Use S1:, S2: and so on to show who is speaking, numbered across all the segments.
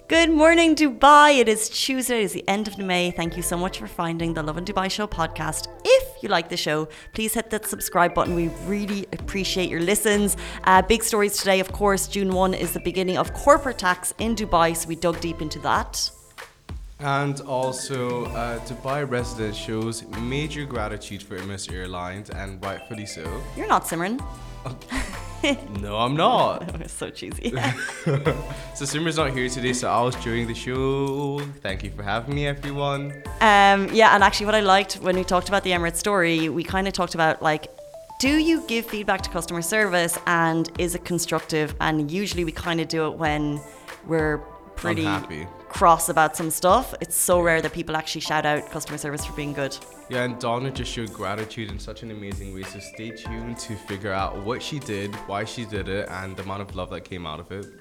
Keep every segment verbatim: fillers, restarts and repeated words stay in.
S1: Good morning, Dubai. It is Tuesday, it is the end of May. Thank you so much for finding the Lovin Dubai Show podcast. If you like the show, please hit that subscribe button. We really appreciate your listens. Uh, big stories today, of course. June first is the beginning of corporate tax in Dubai, so we dug deep into that.
S2: And also, uh, Dubai resident shows major gratitude for Emirates Airlines, and rightfully so.
S1: You're not, Simran.
S2: No, I'm not.
S1: It's so cheesy.
S2: So Simran's not here today, so I was during the show. Thank you for having me, everyone.
S1: Um, yeah, and actually what I liked when we talked about the Emirates story, we kind of talked about like, do you give feedback to customer service and is it constructive? And usually we kind of do it when we're pretty
S2: Unhappy.
S1: cross about some stuff. It's so rare that people actually shout out customer service for being good.
S2: Yeah, and Donna just showed gratitude in such an amazing way, so stay tuned to figure out what she did, why she did it, and the amount of love that came out of it.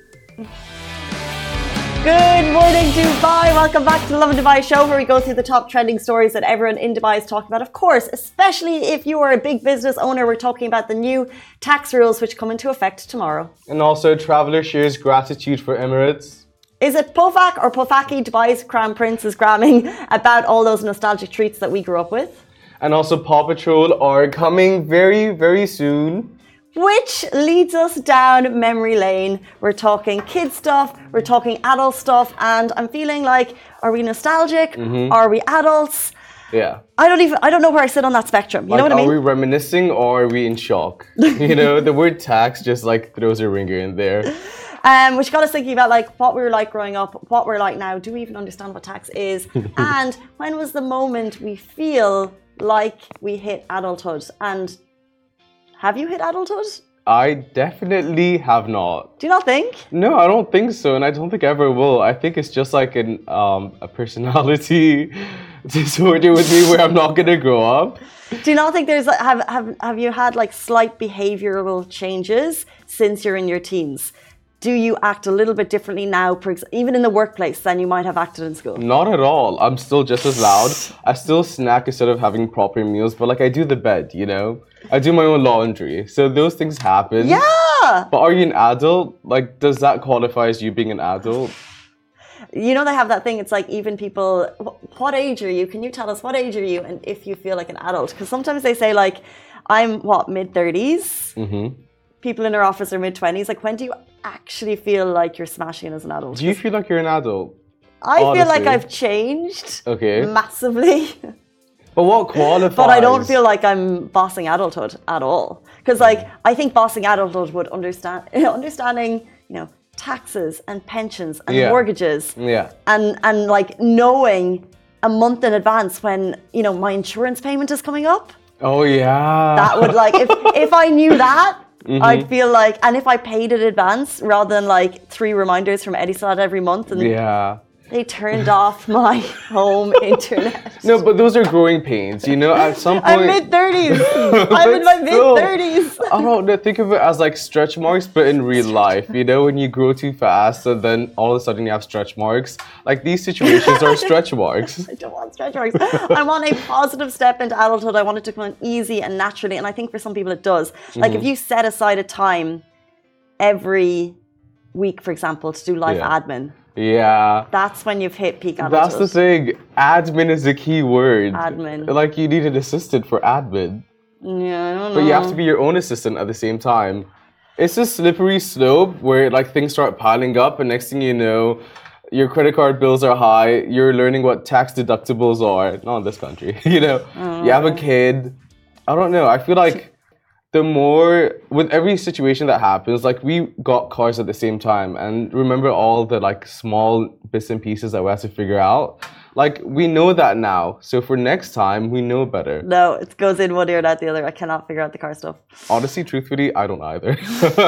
S1: Good morning, Dubai. Welcome back to the Lovin Dubai Show, where we go through the top trending stories that everyone in Dubai is talking about. Of course, especially if you are a big business owner, we're talking about the new tax rules which come into effect tomorrow.
S3: And also, traveller shares gratitude for Emirates.
S1: Is it Pofak or Pofaki, Dubai's Crown Prince, is gramming about all those nostalgic treats that we grew up with?
S3: And also, Paw Patrol are coming very, very soon.
S1: Which leads us down memory lane. We're talking kid stuff, we're talking adult stuff, and I'm feeling like, are we nostalgic?
S3: Mm-hmm.
S1: Are we adults?
S3: Yeah.
S1: I don't even, I don't know where I sit on that spectrum. You
S3: like,
S1: know what I mean?
S3: Are we reminiscing or are we in shock? You know, the word tax just like throws a ringer in there.
S1: Um, which got us thinking about like what we were like growing up, what we're like now. Do we even understand what tax is? And when was the moment we feel like we hit adulthood? And have you hit adulthood?
S3: I definitely have not.
S1: Do you not think?
S3: No, I don't think so, and I don't think I ever will. I think it's just like an um, a personality disorder with me where I'm not gonna grow up.
S1: Do you not think there's like, have have have you had like slight behavioural changes since you're in your teens? Do you act a little bit differently now, even in the workplace, than you might have acted in school?
S3: Not at all. I'm still just as loud. I still snack instead of having proper meals, but like I do the bed, you know? I do my own laundry. So those things happen.
S1: Yeah!
S3: But are you an adult? Like, does that qualify as you being an adult?
S1: You know, they have that thing, it's like even people, what age are you? Can you tell us what age are you? And if you feel like an adult? Because sometimes they say like, I'm what, mid thirties?
S3: Mm-hmm.
S1: People in our office are mid twenties. Like, when do you actually feel like you're smashing as an adult?
S3: Do you feel like you're an adult?
S1: I
S3: Honestly.
S1: feel like I've changed
S3: Okay.
S1: massively.
S3: But what qualifies?
S1: But I don't feel like I'm bossing adulthood at all. Because, like, I think bossing adulthood would understand, understanding, you know, taxes and pensions and
S3: Yeah.
S1: mortgages.
S3: Yeah.
S1: And, and, like, knowing a month in advance when, you know, my insurance payment is coming up.
S3: Oh, yeah.
S1: That would, like, if, if I knew that,
S3: Mm-hmm.
S1: I'd feel like, and if I paid it in advance rather than like three reminders from Etisalat every month, and
S3: yeah.
S1: they turned off my home internet.
S3: No, but those are growing pains, you know? At some point...
S1: I'm mid thirties. I'm in my mid thirties.
S3: I don't know. Think of it as like stretch marks, but in real life. You know, when you grow too fast and then all of a sudden you have stretch marks. Like these situations are stretch marks.
S1: I don't want stretch marks. I want a positive step into adulthood. I want it to come easy and naturally. And I think for some people it does. Like mm-hmm. if you set aside a time every week, for example, to do life
S3: yeah.
S1: admin.
S3: Yeah.
S1: That's when you've hit peak adulthood.
S3: That's the thing. Admin is the key word.
S1: Admin.
S3: Like you need an assistant for admin.
S1: Yeah, I don't know.
S3: But you have to be your own assistant at the same time. It's a slippery slope where like things start piling up and next thing you know, your credit card bills are high. You're learning what tax deductibles are. Not in this country. You know,
S1: oh,
S3: you have a kid. I don't know. I feel like the more, with every situation that happens, like we got cars at the same time and remember all the like small bits and pieces that we had to figure out. Like we know that now. So for next time, we know better.
S1: No, it goes in one ear and out the other. I cannot figure out the car stuff.
S3: Honestly, truthfully, I don't either.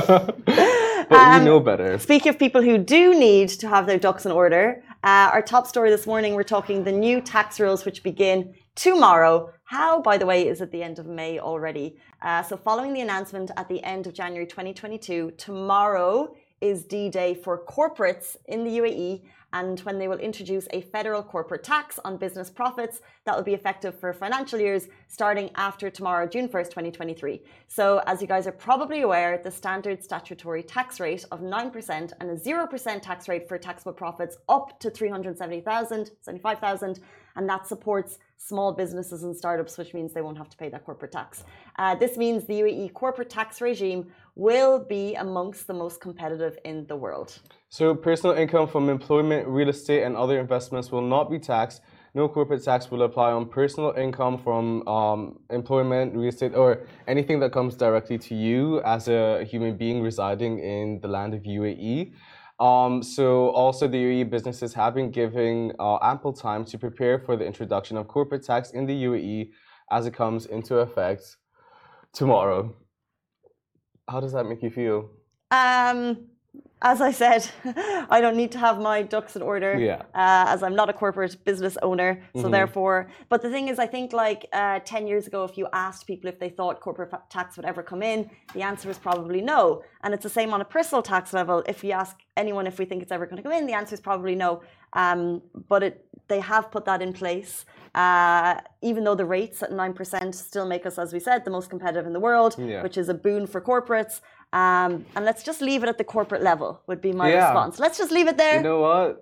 S3: But um, we know better.
S1: Speaking of people who do need to have their ducks in order, uh, our top story this morning, we're talking the new tax rules which begin tomorrow. How, by the way, is at the end of May already. Uh, so following the announcement at the end of January twenty twenty-two, tomorrow is D-Day for corporates in the U A E, and when they will introduce a federal corporate tax on business profits that will be effective for financial years starting after tomorrow, June first, twenty twenty-three. So as you guys are probably aware, the standard statutory tax rate of nine percent and a zero percent tax rate for taxable profits up to three hundred seventy thousand, seventy-five thousand, and that supports small businesses and startups, which means they won't have to pay that corporate tax. Uh, this means the U A E corporate tax regime will be amongst the most competitive in the world.
S3: So personal income from employment, real estate, and other investments will not be taxed. No corporate tax will apply on personal income from um, employment, real estate, or anything that comes directly to you as a human being residing in the land of U A E. Um, so also the U A E businesses have been giving uh, ample time to prepare for the introduction of corporate tax in the U A E as it comes into effect tomorrow. How does that make you feel?
S1: Um, as I said, I don't need to have my ducks in order,
S3: Yeah.
S1: uh, as I'm not a corporate business owner. So
S3: Mhm.
S1: therefore, but the thing is, I think like uh, ten years ago, if you asked people if they thought corporate fa- tax would ever come in, the answer was probably no. And it's the same on a personal tax level. If we ask anyone if we think it's ever going to come in, the answer is probably no. Um, but it, they have put that in place. Uh, even though the rates at nine percent still make us, as we said, the most competitive in the world,
S3: Yeah.
S1: which is a boon for corporates. Um, and let's just leave it at the corporate level would be my
S3: Yeah.
S1: response. Let's just leave it there.
S3: You know what?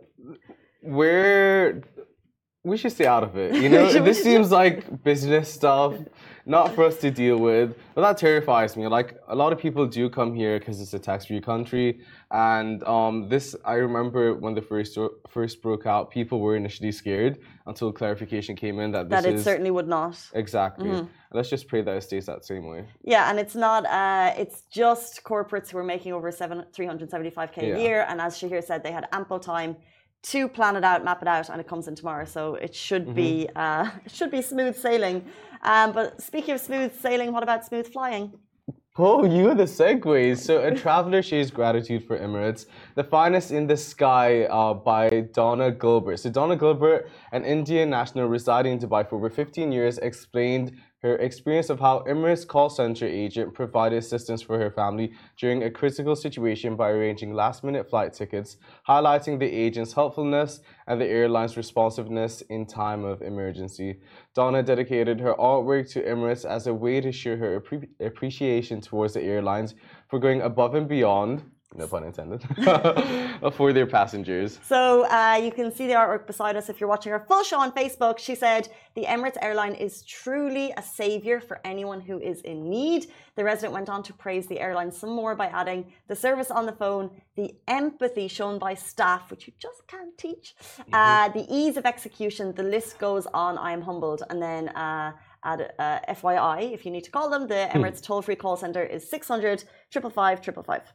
S3: We're we should stay out of it. You know,
S1: We
S3: this
S1: should
S3: seems like business stuff, not for us to deal with. But that terrifies me. Like a lot of people do come here because it's a tax-free country, and um, this I remember when the first first broke out, people were initially scared until clarification came in that this
S1: that it
S3: is
S1: certainly would not.
S3: exactly. Let's just pray that it stays that same way.
S1: Yeah, and it's not. Uh, it's just corporates who are making over seven three hundred seventy-five k
S3: Yeah.
S1: a year, and as Shahir said, they had ample time to plan it out, map it out, and it comes in tomorrow. So it should be uh, it should be smooth sailing. Um, but speaking of smooth sailing, what about smooth flying?
S3: Oh, you are the segues. So, a traveler shares gratitude for Emirates, the finest in the sky, uh, by Donna Gilbert. So, Donna Gilbert, an Indian national residing in Dubai for over fifteen years, explained her experience of how Emirates call center agent provided assistance for her family during a critical situation by arranging last-minute flight tickets, highlighting the agent's helpfulness and the airline's responsiveness in time of emergency. Donna dedicated her artwork to Emirates as a way to show her appre- appreciation towards the airlines for going above and beyond, no pun intended, for their passengers.
S1: So uh, you can see the artwork beside us if you're watching our full show on Facebook. She said, the Emirates airline is truly a savior for anyone who is in need. The resident went on to praise the airline some more by adding the service on the phone, the empathy shown by staff, which you just can't teach, mm-hmm. uh, the ease of execution, the list goes on. I am humbled. And then uh, add uh, F Y I, if you need to call them, the Emirates toll-free call center is six hundred, five five five, five five five.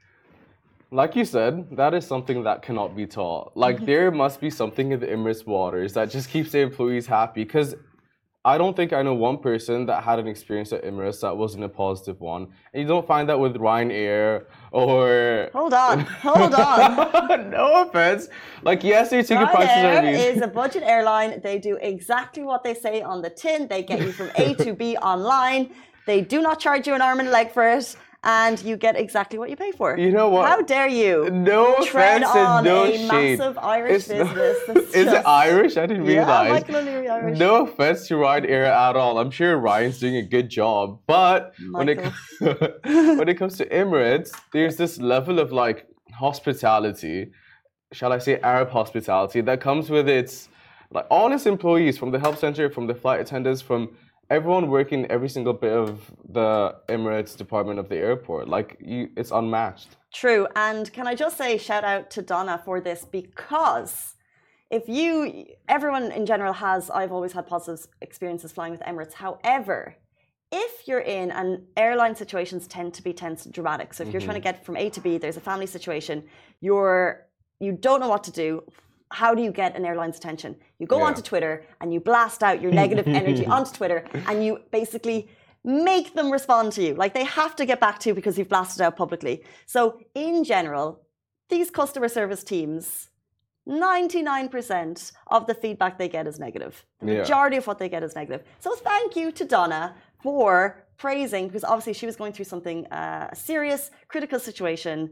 S3: Like you said, that is something that cannot be taught. Like, there must be something in the Emirates waters that just keeps the employees happy. Because I don't think I know one person that had an experience at Emirates that wasn't a positive one. And you don't find that with Ryanair or...
S1: Hold on, hold on.
S3: No offense. Like, yes, their ticket prices are
S1: Ryanair
S3: amazing.
S1: is a budget airline. They do exactly what they say on the tin. They get you from A to B online. They do not charge you an arm and a leg for it. And you get exactly what you pay for.
S3: You know what?
S1: How dare you?
S3: No
S1: tread
S3: offense
S1: on
S3: and no
S1: a
S3: shade.
S1: massive Irish
S3: It's not-
S1: business. That's
S3: Is it
S1: just-
S3: Irish? I didn't
S1: Yeah,
S3: realize.
S1: Michael O'Leary Irish.
S3: No offense to Ryanair at all. I'm sure Ryan's doing a good job. But when it,
S1: Michael.
S3: when it comes to Emirates, there's this level of like hospitality, shall I say Arab hospitality, that comes with its, like all its employees, from the help center, from the flight attendants, from everyone working every single bit of the Emirates department of the airport. Like, you, it's unmatched.
S1: True. And can I just say shout out to Donna for this, because if you, everyone in general has, I've always had positive experiences flying with Emirates. However, if you're in, and airline situations tend to be tense and dramatic. So if you're trying to get from A to B, there's a family situation, you're, you don't know what to do. How do you get an airline's attention? You go
S3: Yeah.
S1: onto Twitter and you blast out your negative energy onto Twitter, and you basically make them respond to you. Like, they have to get back to you because you've blasted out publicly. So in general, these customer service teams, ninety-nine percent of the feedback they get is negative. The
S3: Yeah.
S1: majority of what they get is negative. So thank you to Donna for praising, because obviously she was going through something, uh, a serious, critical situation,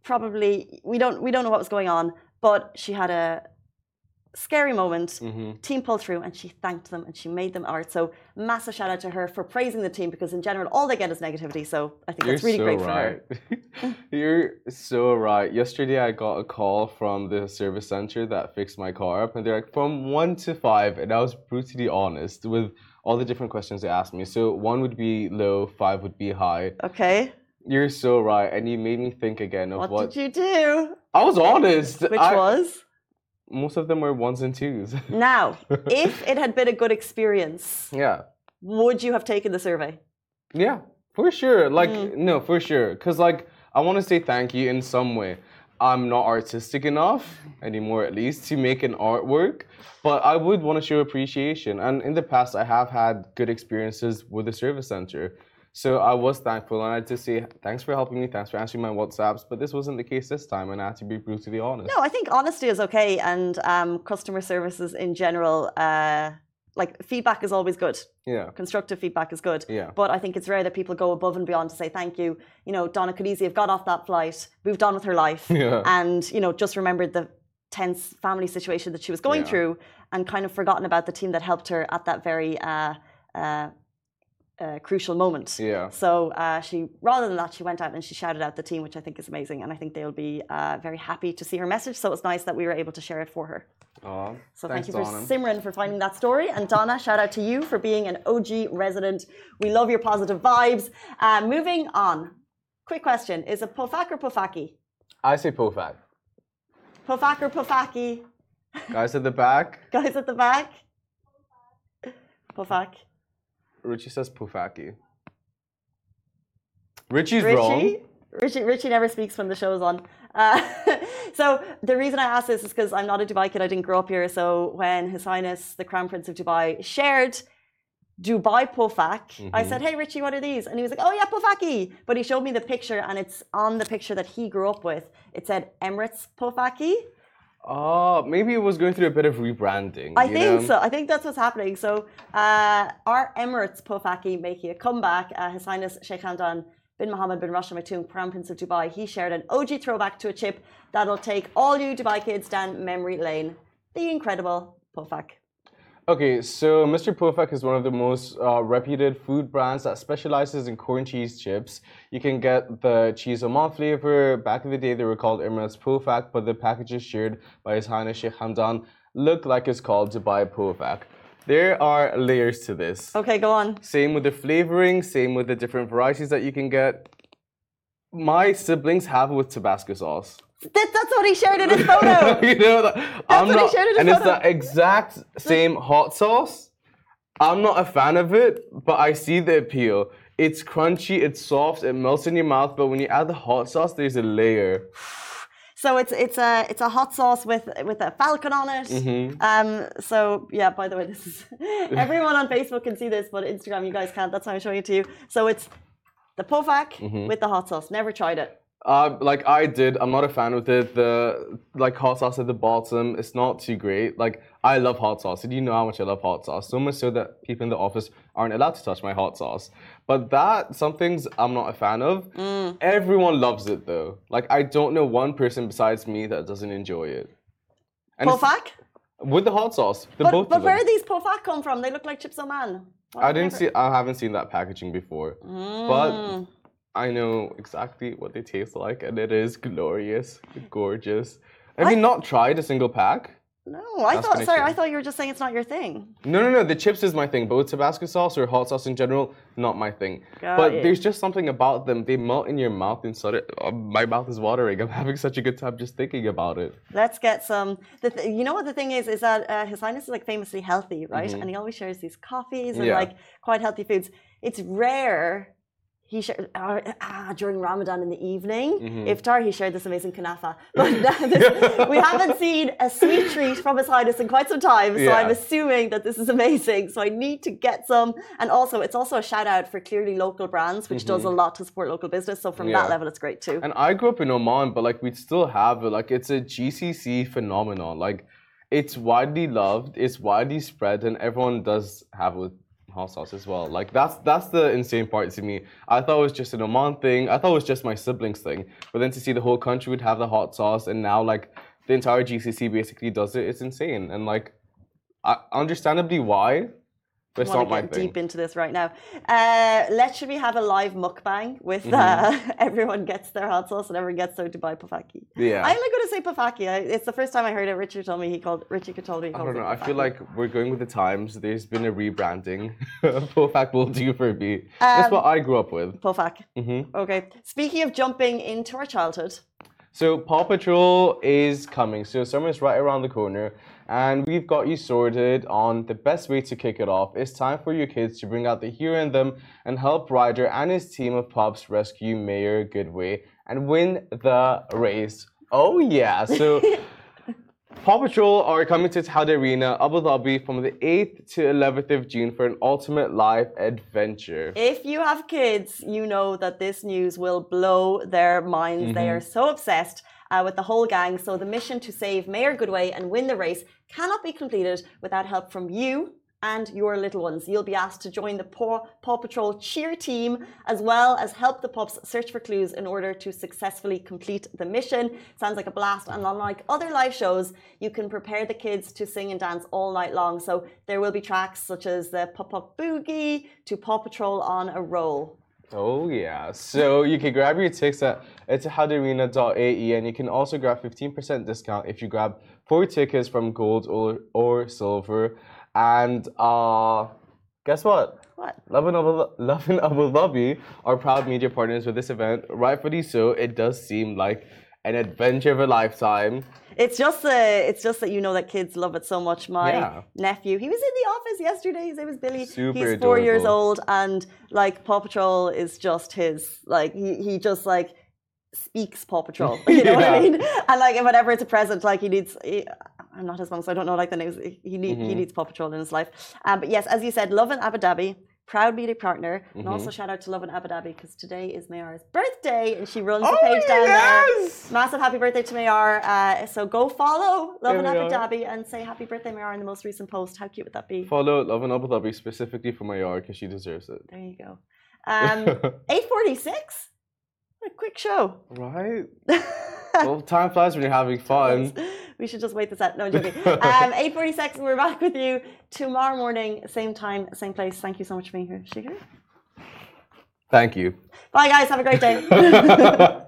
S1: probably we don't we don't know what was going on, but she had a scary moment.
S3: Mm-hmm.
S1: Team pulled through, and she thanked them, and she made them art. So massive shout out to her for praising the team, because in general all they get is negativity. So I think
S3: You're
S1: that's really
S3: so
S1: great for her.
S3: right. You're so right. Yesterday I got a call from the service center that fixed my car up, and they're like, from one to five, and I was brutally honest with all the different questions they asked me. So one would be low, five would be high.
S1: Okay.
S3: You're so right, and you made me think again of
S1: What,
S3: what,
S1: did you do?
S3: I was honest.
S1: Which
S3: I-
S1: was?
S3: Most of them were ones and twos.
S1: Now, if it had been a good experience,
S3: Yeah.
S1: would you have taken the survey?
S3: Yeah, for sure. Like,
S1: Mm.
S3: no, for sure. Because, like, I want to say thank you in some way. I'm not artistic enough anymore, at least, to make an artwork. But I would want to show appreciation. And in the past, I have had good experiences with the service center. So I was thankful, and I had to say, thanks for helping me, thanks for answering my WhatsApps. But this wasn't the case this time, and I had to be brutally honest.
S1: No, I think honesty is okay, and um, customer services in general, uh, like feedback is always good.
S3: Yeah.
S1: Constructive feedback is good.
S3: Yeah.
S1: But I think it's rare that people go above and beyond to say thank you. You know, Donna could easily have got off that flight, moved on with her life,
S3: Yeah.
S1: and, you know, just remembered the tense family situation that she was going
S3: Yeah.
S1: through, and kind of forgotten about the team that helped her at that very uh, uh, uh, crucial moment.
S3: Yeah.
S1: So uh, she, rather than that, she went out and she shouted out the team, which I think is amazing, and I think they'll be uh, very happy to see her message. So it's nice that we were able to share it for her.
S3: Aw,
S1: So
S3: thanks,
S1: thank you for
S3: Donna.
S1: Simran for finding that story, and Donna, shout out to you for being an O G resident. We love your positive vibes. Uh, moving on, quick question: is it Pofak or Pofaki?
S3: I say Pofak.
S1: Pofak or Pofaki?
S3: Guys at the back,
S1: Guys at the back. Pofak.
S3: Richie says Pofaki. Richie's wrong.
S1: Richie. Richie. Richie never speaks when the show's on. Uh, so the reason I ask this is because I'm not a Dubai kid. I didn't grow up here. So when His Highness the Crown Prince of Dubai shared Dubai Pofak, I said, "Hey Richie, what are these?" And he was like, "Oh yeah, Pofaki." But he showed me the picture, and it's on the picture that he grew up with. It said Emirates Pofaki.
S3: Oh, maybe it was going through a bit of rebranding.
S1: I
S3: you
S1: think
S3: know?
S1: so. I think that's what's happening. So uh, our Emirates Pofaki making a comeback. Uh, His Highness Sheikh Hamdan bin Mohammed bin Rashid Al Maktoum, Crown Prince of Dubai, he shared an O G throwback to a chip that'll take all you Dubai kids down memory lane. The incredible Pofak.
S3: Okay, so Mister Pofak is one of the most uh, reputed food brands that specializes in corn cheese chips. You can get the cheese Oman flavor. Back in the day, they were called Emirates Pofak, but the packages shared by His Highness Sheikh Hamdan look like it's called Dubai Pofak. There are layers to this.
S1: Okay, go on.
S3: Same with the flavoring, same with the different varieties that you can get. My siblings have it with Tabasco sauce.
S1: That, that's what he shared in his photo.
S3: you know, that, I'm
S1: what he
S3: not,
S1: shared in his
S3: and it's
S1: photo.
S3: the exact same hot sauce. I'm not a fan of it, but I see the appeal. It's crunchy, it's soft, it melts in your mouth, but when you add the hot sauce, there's a layer.
S1: So it's it's a it's a hot sauce with with a falcon on it.
S3: Mm-hmm.
S1: Um. So yeah. By the way, this is everyone on Facebook can see this, but Instagram you guys can't. That's why I'm showing it to you. So it's the Pofak
S3: Mm-hmm.
S1: with the hot sauce. Never tried it.
S3: Uh, like I did, I'm not a fan of it. The like hot sauce at the bottom, it's not too great. Like I love hot sauce. Did you know how much I love hot sauce? So much so that people in the office aren't allowed to touch my hot sauce. But that, some things I'm not a fan of.
S1: Mm.
S3: Everyone loves it though. Like I don't know one person besides me that doesn't enjoy it. And it's-
S1: Pofak.
S3: with the hot sauce, the
S1: But
S3: both
S1: but
S3: of
S1: where
S3: them.
S1: do these Pofak come from? They look like chips Oman. Why
S3: I
S1: have
S3: didn't
S1: never-
S3: see. I haven't seen that packaging before,
S1: Mm.
S3: but I know exactly what they taste like, and it is glorious, gorgeous. Have you not tried a single pack?
S1: No, I
S3: That's
S1: thought.
S3: gonna
S1: Sorry,
S3: change.
S1: I thought you were just saying it's not your thing.
S3: No, no, no. The chips is my thing. Both Tabasco sauce or hot sauce in general, not my thing.
S1: Got
S3: but
S1: you.
S3: there's just something about them. They melt in your mouth and sort of. Uh, my mouth is watering. I'm having such a good time just thinking about it.
S1: Let's get some. The th- you know what the thing is is that uh, His Highness is like famously healthy, right? And he always shares these coffees and
S3: Yeah.
S1: like quite healthy foods. It's rare. He shared uh, ah, during Ramadan in the evening. Iftar, he shared this amazing kanafa. But this, we haven't seen a sweet treat from His Highness in quite some time. So
S3: Yeah.
S1: I'm assuming that this is amazing. So I need to get some. And also, it's also a shout out for clearly local brands, which does a lot to support local business. So from that
S3: Yeah.
S1: level, it's great too.
S3: And I grew up in Oman, but like we still have it. Like it's a G C C phenomenon. Like it's widely loved, it's widely spread, and everyone does have it with hot sauce as well. Like that's that's the insane part to me. I thought it was just an Oman thing. I thought it was just my siblings thing. But then to see the whole country would have the hot sauce, and now like the entire G C C basically does it, it's insane. And like, I, understandably why, but it's not my
S1: get
S3: thing.
S1: Deep into this right now. Uh, let's should we have a live mukbang with
S3: Mm-hmm.
S1: uh, everyone gets their hot sauce and everyone gets their Dubai pofaki.
S3: Yeah.
S1: I'm going to say pofaki. I, it's the first time I heard it. Richard told me he called. Richard told me he
S3: I
S1: called
S3: don't
S1: it
S3: know. I feel
S1: pofaki.
S3: like we're going with the times. There's been a rebranding. Pofak will do for me. That's what I grew up with.
S1: Pofak.
S3: Mm-hmm.
S1: Okay. Speaking of jumping into our childhood.
S3: So Paw Patrol is coming. So summer's right around the corner, and we've got you sorted on the best way to kick it off. It's time for your kids to bring out the hero in them and help Ryder and his team of pups rescue Mayor Goodway and win the race. Oh yeah! So Paw Patrol are coming to Taude Arena, Abu Dhabi from the eighth to eleventh of June for an ultimate live adventure.
S1: If you have kids, you know that this news will blow their minds.
S3: Mm-hmm.
S1: They are so obsessed uh, with the whole gang. So the mission to save Mayor Goodway and win the race cannot be completed without help from you and your little ones. You'll be asked to join the Paw, Paw Patrol cheer team, as well as help the pups search for clues in order to successfully complete the mission. Sounds like a blast. And unlike other live shows, you can prepare the kids to sing and dance all night long. So there will be tracks such as the Pop Pop Boogie to Paw Patrol on a Roll.
S3: Oh yeah, so you can grab your tickets at etihad-arena dot a e, and you can also grab fifteen percent discount if you grab four tickets from gold or, or silver. And uh, guess what?
S1: What?
S3: Lovin Abu, Lovin Abu Dhabi are proud media partners with this event. Rightfully so, it does seem like an adventure of a lifetime.
S1: It's just uh, it's just that you know that kids love it so much. My
S3: Yeah.
S1: nephew, he was in the office yesterday. His name was Billy.
S3: Super
S1: He's four years
S3: adorable.
S1: old, and like Paw Patrol is just his. Like he he just like speaks Paw Patrol. You know what I
S3: Yeah.
S1: mean? And like whenever it's a present, like he needs. He, I'm not his mom, so I don't know like the names. He need,
S3: Mm-hmm.
S1: he needs Paw Patrol in his life. Um, but yes, as you said, Love in Abu Dhabi. Proud media partner, and
S3: Mm-hmm.
S1: also shout out to Love in Abu Dhabi because today is Mayar's birthday and she runs the
S3: Oh,
S1: page down
S3: yes!
S1: there. Massive happy birthday to Mayar. Uh, so go follow Love in
S3: There we
S1: Abu
S3: are.
S1: Dhabi and say happy birthday, Mayar, in the most recent post. How cute would that be?
S3: Follow Lovin Abu Dhabi specifically for my yard because she deserves it.
S1: There you go. Um, eight forty-six? What a quick show.
S3: Right? Well, time flies when you're having fun.
S1: We should just wait this out. No, I'm joking. Um, eight forty-six, we're back with you tomorrow morning, same time, same place. Thank you so much for being here. Shiger.
S3: Thank you.
S1: Bye, guys. Have a great day.